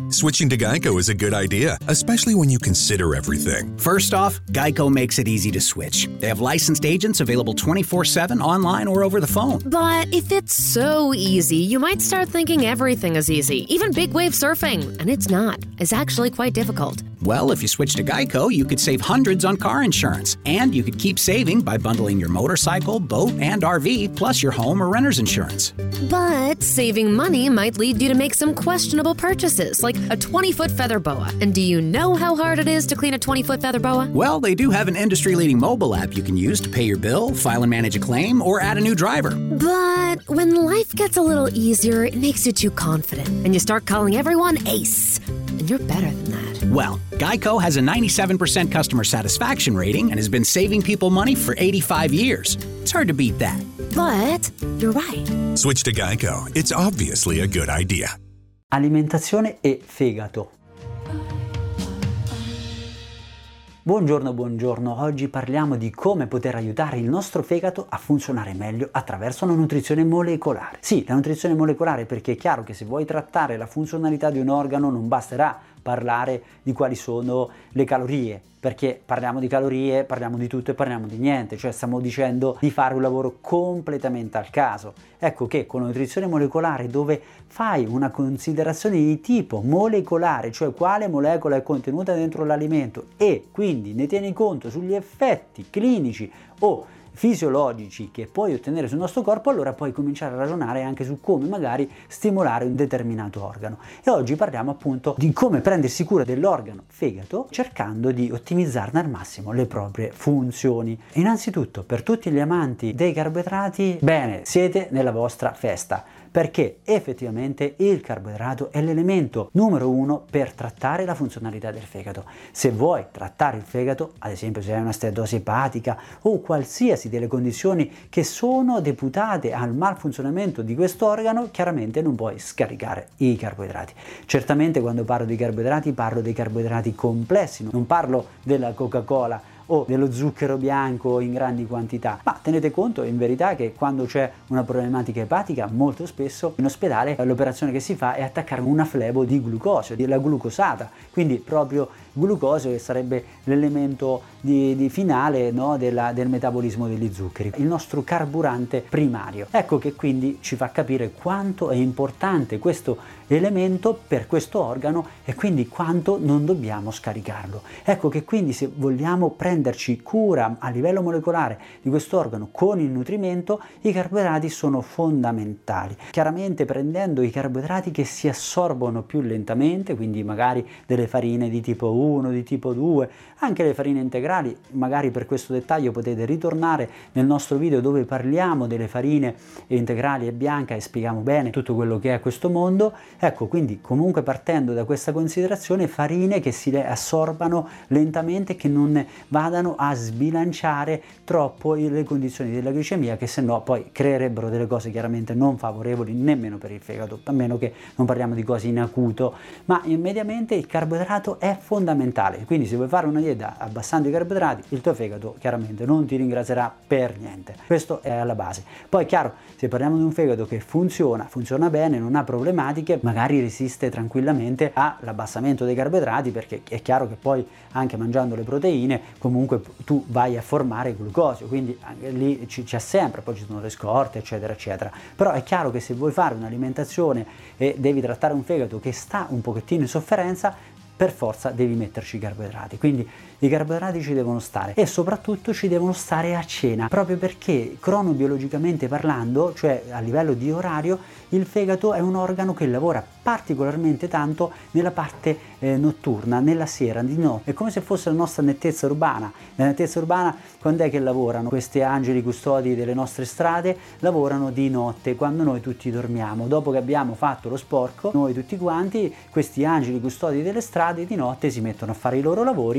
Switching to Geico is a good idea, especially when you consider everything. First off, Geico makes it easy to switch. They have licensed agents available 24/7 online or over the phone. But if it's so easy, you might start thinking everything is easy, even big wave surfing. And it's not. It's actually quite difficult. Well, if you switch to Geico, you could save hundreds on car insurance. And you could keep saving by bundling your motorcycle, boat, and RV, plus your home or renter's insurance. But saving money might lead you to make some questionable purchases, like a 20-foot feather boa. And do you know how hard it is to clean a 20-foot feather boa? Well, they do have an industry-leading mobile app you can use to pay your bill, file and manage a claim, or add a new driver. But when life gets a little easier, it makes you too confident, and you start calling everyone Ace. And you're better than that. Well, Geico has a 97% customer satisfaction rating and has been saving people money for 85 years. It's hard to beat that. But you're right. Switch to Geico. It's obviously a good idea. Alimentazione e fegato. Buongiorno, oggi parliamo di come poter aiutare il nostro fegato a funzionare meglio attraverso una nutrizione molecolare. Sì, la nutrizione molecolare, perché è chiaro che se vuoi trattare la funzionalità di un organo non basterà parlare di quali sono le calorie, perché parliamo di calorie, parliamo di tutto e parliamo di niente, cioè stiamo dicendo di fare un lavoro completamente al caso. Ecco che con la nutrizione molecolare, dove fai una considerazione di tipo molecolare, cioè quale molecola è contenuta dentro l'alimento e quindi ne tieni conto sugli effetti clinici o fisiologici che puoi ottenere sul nostro corpo, allora puoi cominciare a ragionare anche su come magari stimolare un determinato organo. E oggi parliamo appunto di come prendersi cura dell'organo fegato cercando di ottimizzarne al massimo le proprie funzioni. Innanzitutto, per tutti gli amanti dei carboidrati, bene, siete nella vostra festa, perché effettivamente il carboidrato è l'elemento numero uno per trattare la funzionalità del fegato. Se vuoi trattare il fegato, ad esempio se hai una steatosi epatica o qualsiasi delle condizioni che sono deputate al malfunzionamento di questo organo, chiaramente non puoi scaricare i carboidrati. Certamente quando parlo di carboidrati parlo dei carboidrati complessi, non parlo della Coca-Cola o dello zucchero bianco in grandi quantità, ma tenete conto in verità che quando c'è una problematica epatica molto spesso in ospedale l'operazione che si fa è attaccare una flebo di glucosio, della glucosata, quindi proprio glucosio che sarebbe l'elemento di finale, no, del metabolismo degli zuccheri, il nostro carburante primario. Ecco che quindi ci fa capire quanto è importante questo elemento per questo organo e quindi quanto non dobbiamo scaricarlo. Ecco che quindi se vogliamo prenderci cura a livello molecolare di questo organo con il nutrimento, i carboidrati sono fondamentali. Chiaramente prendendo i carboidrati che si assorbono più lentamente, quindi magari delle farine di tipo 1, di tipo 2, anche le farine integrali, magari per questo dettaglio potete ritornare nel nostro video dove parliamo delle farine integrali e bianche e spieghiamo bene tutto quello che è questo mondo. Ecco, quindi comunque partendo da questa considerazione, farine che si assorbano lentamente, che non vadano a sbilanciare troppo le condizioni della glicemia, che se no poi creerebbero delle cose chiaramente non favorevoli nemmeno per il fegato, a meno che non parliamo di cose in acuto, ma mediamente il carboidrato è fondamentale. Quindi se vuoi fare una dieta abbassando i carboidrati, il tuo fegato chiaramente non ti ringrazierà per niente. Questo è alla base. Poi chiaro, se parliamo di un fegato che funziona bene, non ha problematiche, magari resiste tranquillamente all'abbassamento dei carboidrati, perché è chiaro che poi anche mangiando le proteine comunque tu vai a formare glucosio, quindi anche lì c'è sempre, poi ci sono le scorte eccetera eccetera. Però è chiaro che se vuoi fare un'alimentazione e devi trattare un fegato che sta un pochettino in sofferenza, per forza devi metterci i carboidrati, quindi i carboidrati ci devono stare e soprattutto ci devono stare a cena, proprio perché cronobiologicamente parlando, cioè a livello di orario, il fegato è un organo che lavora particolarmente tanto nella parte notturna, nella sera, di notte. È come se fosse la nostra nettezza urbana. La nettezza urbana, quando è che lavorano? Questi angeli custodi delle nostre strade lavorano di notte, quando noi tutti dormiamo. Dopo che abbiamo fatto lo sporco, noi tutti quanti, questi angeli custodi delle strade di notte si mettono a fare i loro lavori e noi la mattina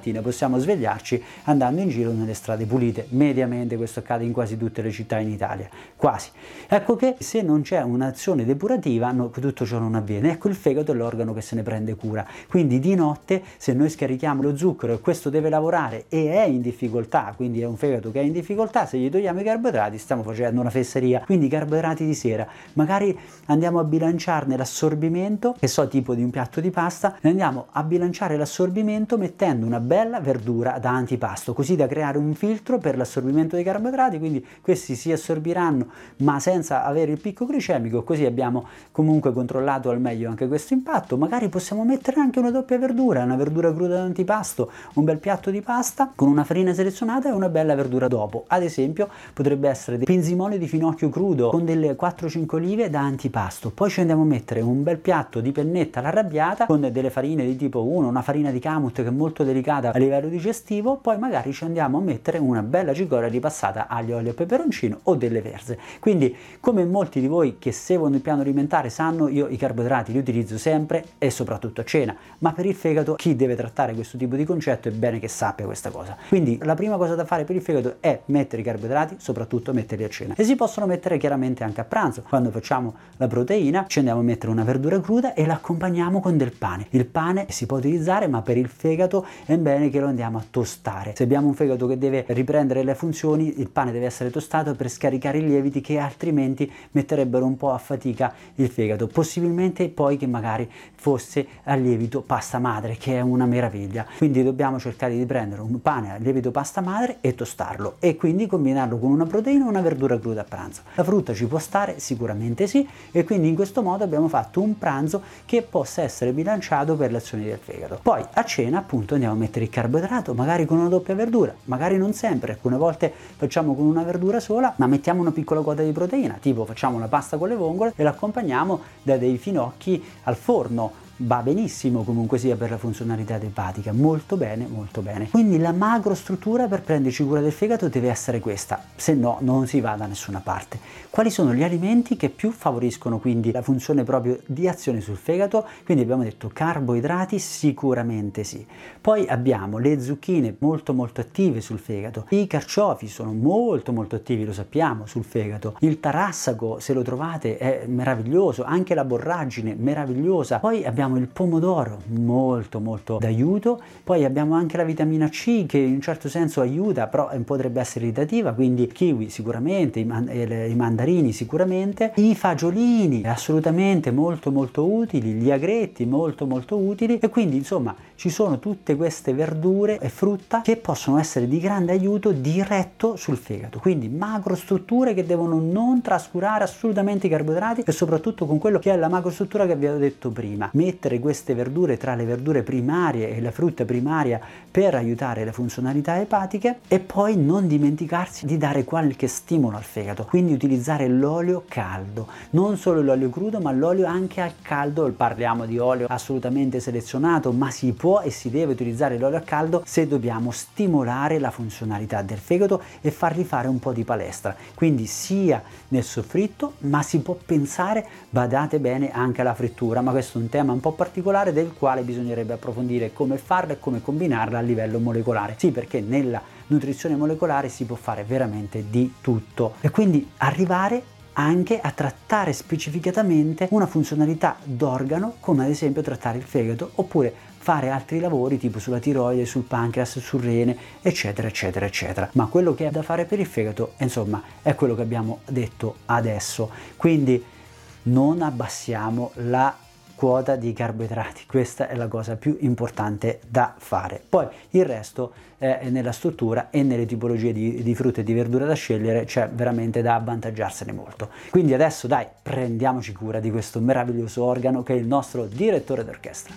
mattina possiamo svegliarci andando in giro nelle strade pulite. Mediamente questo accade in quasi tutte le città in Italia, quasi. Ecco che se non c'è un'azione depurativa tutto ciò non avviene. Ecco, il fegato è l'organo che se ne prende cura, quindi di notte se noi scarichiamo lo zucchero e questo deve lavorare e è in difficoltà, quindi è un fegato che è in difficoltà, se gli togliamo i carboidrati stiamo facendo una fesseria. Quindi i carboidrati di sera, magari andiamo a bilanciarne l'assorbimento, che so, tipo di un piatto di pasta, e andiamo a bilanciare l'assorbimento mettendo una bella verdura da antipasto, così da creare un filtro per l'assorbimento dei carboidrati, quindi questi si assorbiranno ma senza avere il picco glicemico, così abbiamo comunque controllato al meglio anche questo impatto. Magari possiamo mettere anche una doppia verdura, una verdura cruda da antipasto, un bel piatto di pasta con una farina selezionata e una bella verdura dopo. Ad esempio potrebbe essere dei pinzimoni di finocchio crudo con delle 4-5 olive da antipasto. Poi ci andiamo a mettere un bel piatto di pennetta all'arrabbiata con delle farine di tipo 1, una farina di kamut che è molto delicata a livello digestivo. Poi magari ci andiamo a mettere una bella cicoria ripassata aglio, olio e peperoncino o delle verze. Quindi, come molti di voi che seguono il piano alimentare sanno, io i carboidrati li utilizzo sempre e soprattutto a cena, ma per il fegato chi deve trattare questo tipo di concetto è bene che sappia questa cosa. Quindi la prima cosa da fare per il fegato è mettere i carboidrati, soprattutto metterli a cena, e si possono mettere chiaramente anche a pranzo. Quando facciamo la proteina ci andiamo a mettere una verdura cruda e la accompagniamo con del pane. Il pane si può utilizzare, ma per il fegato è bene che lo andiamo a tostare. Se abbiamo un fegato che deve riprendere le funzioni, il pane deve essere tostato per scaricare i lieviti che altrimenti metterebbero un po' a fatica il fegato. Possibilmente poi che magari fosse a lievito pasta madre, che è una meraviglia. Quindi dobbiamo cercare di prendere un pane a lievito pasta madre e tostarlo, e quindi combinarlo con una proteina e una verdura cruda a pranzo. La frutta ci può stare? Sicuramente sì, e quindi in questo modo abbiamo fatto un pranzo che possa essere bilanciato per le azioni del fegato. Poi a cena appunto andiamo a mettere il carboidrato, magari con una doppia verdura, magari non sempre, alcune volte facciamo con una verdura sola, ma mettiamo una piccola quota di proteina, tipo facciamo una pasta con le vongole e l'accompagniamo da dei finocchi al forno. Va benissimo comunque sia per la funzionalità epatica, molto bene, molto bene. Quindi la macrostruttura per prenderci cura del fegato deve essere questa, se no non si va da nessuna parte. Quali sono gli alimenti che più favoriscono quindi la funzione proprio di azione sul fegato? Quindi abbiamo detto carboidrati, sicuramente sì. Poi abbiamo le zucchine molto attive sul fegato, i carciofi sono molto attivi, lo sappiamo, sul fegato, il tarassaco se lo trovate è meraviglioso, anche la borragine meravigliosa. Poi abbiamo il pomodoro, molto d'aiuto. Poi abbiamo anche la vitamina C che in un certo senso aiuta, però potrebbe essere irritativa, quindi kiwi sicuramente, i mandarini sicuramente, i fagiolini assolutamente molto utili, gli agretti molto utili, e quindi insomma ci sono tutte queste verdure e frutta che possono essere di grande aiuto diretto sul fegato. Quindi macrostrutture che devono non trascurare assolutamente i carboidrati, e soprattutto con quello che è la macrostruttura che vi avevo detto prima, mettere queste verdure tra le verdure primarie e la frutta primaria per aiutare le funzionalità epatiche, e poi non dimenticarsi di dare qualche stimolo al fegato, quindi utilizzare l'olio caldo, non solo l'olio crudo ma l'olio anche al caldo. Parliamo di olio assolutamente selezionato, ma si può e si deve utilizzare l'olio a caldo se dobbiamo stimolare la funzionalità del fegato e fargli fare un po' di palestra, quindi sia nel soffritto, ma si può pensare, badate bene, anche alla frittura, ma questo è un tema un po' particolare del quale bisognerebbe approfondire come farla e come combinarla a livello molecolare. Sì, perché nella nutrizione molecolare si può fare veramente di tutto, e quindi arrivare anche a trattare specificatamente una funzionalità d'organo, come ad esempio trattare il fegato, oppure fare altri lavori tipo sulla tiroide, sul pancreas, sul rene, eccetera. Ma quello che è da fare per il fegato, insomma, è quello che abbiamo detto adesso. Quindi non abbassiamo la quota di carboidrati, questa è la cosa più importante da fare. Poi il resto è nella struttura e nelle tipologie di frutta e di verdura da scegliere, c'è veramente da avvantaggiarsene molto. Quindi adesso dai, prendiamoci cura di questo meraviglioso organo che è il nostro direttore d'orchestra.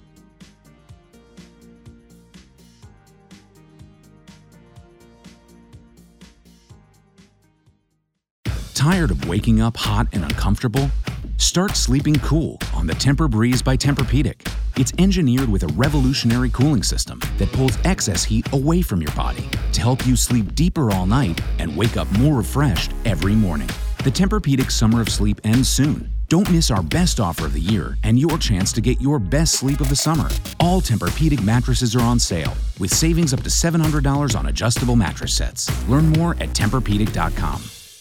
Tired of waking up hot and uncomfortable? Start sleeping cool on the Tempur-Breeze by Tempur-Pedic. It's engineered with a revolutionary cooling system that pulls excess heat away from your body to help you sleep deeper all night and wake up more refreshed every morning. The Tempur-Pedic summer of sleep ends soon, Don't miss our best offer of the year and your chance to get your best sleep of the summer. All Tempur-Pedic mattresses are on sale, with savings up to $700 on adjustable mattress sets. Learn more at TempurPedic.com.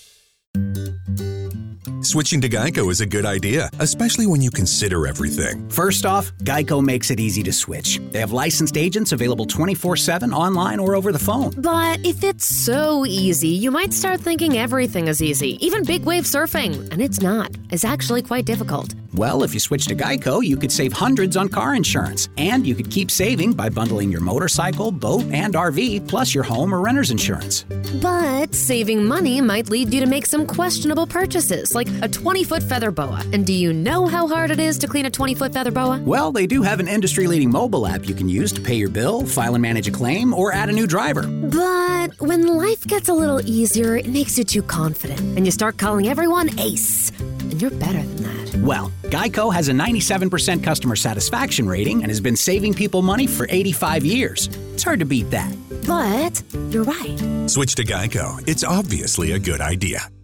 Switching to Geico is a good idea, especially when you consider everything. First off, Geico makes it easy to switch. They have licensed agents available 24/7 online or over the phone. But if it's so easy, you might start thinking everything is easy, even big wave surfing. And it's not. It's actually quite difficult. Well, if you switch to Geico, you could save hundreds on car insurance. And you could keep saving by bundling your motorcycle, boat, and RV, plus your home or renter's insurance. But saving money might lead you to make some questionable purchases, like a 20-foot feather boa. And do you know how hard it is to clean a 20-foot feather boa? Well, they do have an industry-leading mobile app you can use to pay your bill, file and manage a claim, or add a new driver. But when life gets a little easier, it makes you too confident, and you start calling everyone Ace. And you're better than that. Well, Geico has a 97% customer satisfaction rating and has been saving people money for 85 years. It's hard to beat that. But you're right. Switch to Geico. It's obviously a good idea.